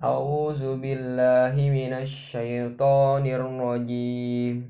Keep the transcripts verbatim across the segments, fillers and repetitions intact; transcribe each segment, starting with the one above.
A'udzu billahi minasy syaithanir rajim.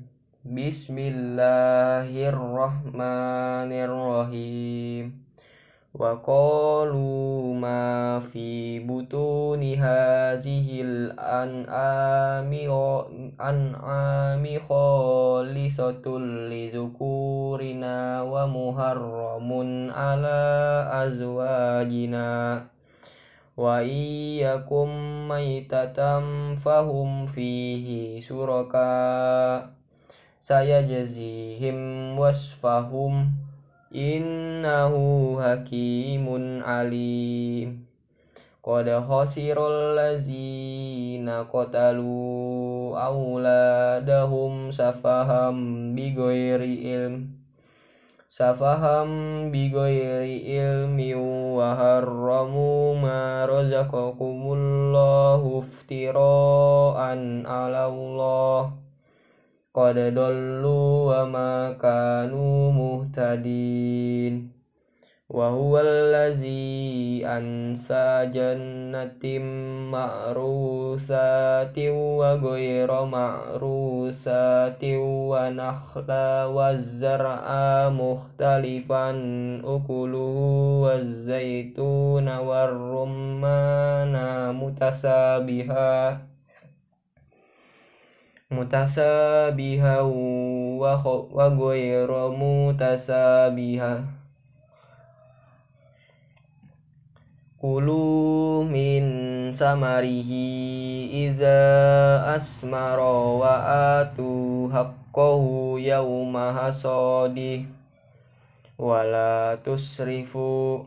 Bismillahirrahmanirrahim. Wa qalu ma fi butuni hadzihil an'ami an'ami khalisatul lizukurina wa muharramun ala azwajina wa iyyakum maitatam fahum fihi suraka sayajzihim wasfahum innahu hakimun alim. Qad khasirul lazina qatalu auladahum safaham bighairi ilm Safaham bighairi ilmi wa harramu ma razaqakumullahu iftira'an 'ala Allah. Qad dallu wa ma kanu muhtadin. Wa huwal ladzi ansa jannatin ma'rusatin wa ghayra ma'rusatin wa nakhla wa zar'a mukhtalifan ukuluhu wa zaituna wa rummana mutasabiha mutasabiha wa wa ghayra mutasabiha. Kulu min samarihi iza asmara wa atu haqqahu yawma hasadih wa la tusrifu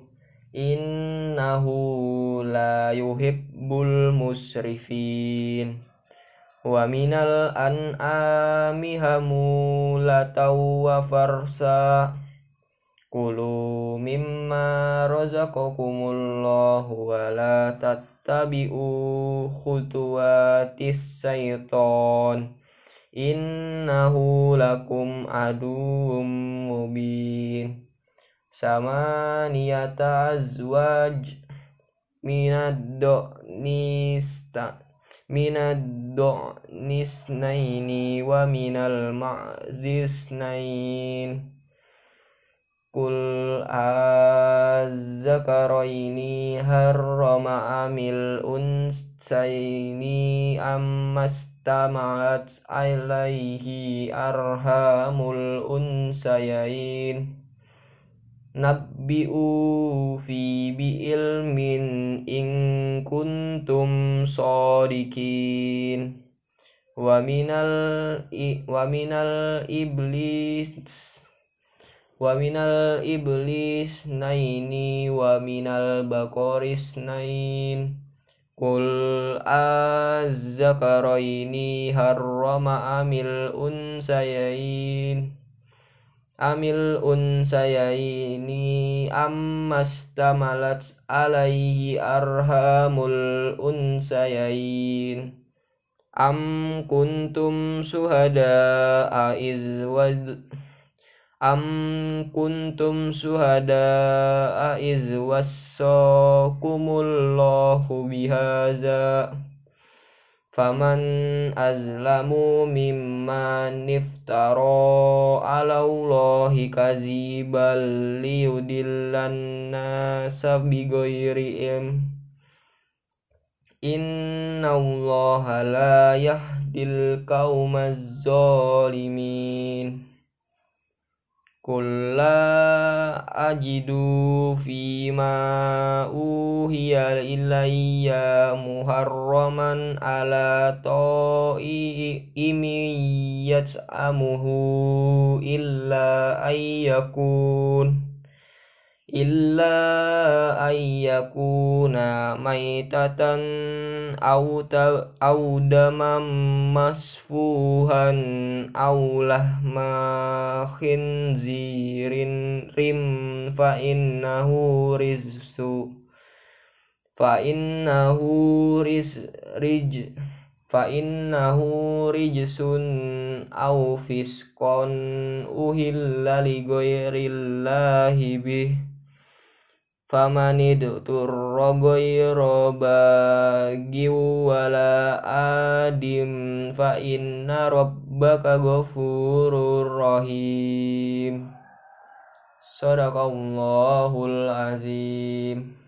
innahu la yuhibbul musrifin. Wa minal an'ami hamulataw wa farsa Kulu mimma razaqakumullahu wa la tattabi'u khutuwatis syaiton innahu lakum aduwwum mubin. Samaniyata azwaj minad do'nista minad do'nisnaini wa minal ma'zisnain. Kul azzakaraini harrama amil unsaini ammastama'at alaihi arhamul unsayain. Nabbi'u fi bi'ilmin in kuntum shadiqin. Wa minal wa minal iblis Wa minal iblis naini wa minal bakoris nain. Kul azzakaraini harrama amil unsayain Amil unsayaini ammastamalat alaihi arhamul unsayain. Am kuntum suhada'a iz wad Am kuntum suhada'a iz wassakumullahu bihaza faman azlamu mimman iftara 'ala Allahi kadziban liyudillan nasa bighairi ilm. Innallaha la yahdil qaumaz zalimin. Qul la ajidu fima uhiya ilayya muharraman ala ta'imin yat'amuhu illa ayyakun illa ayyakuna maitatan aw aw damam masfuhan aw lahma khinzirin rim fa innahu rizsu fa innahu riz rij fa innahu rijsun aw fiskon uhilla li ghairillahi bih famanid turra ghayra baghi wala adim fa inna rabbaka ghafurur rahim. Shadaqallahul azim.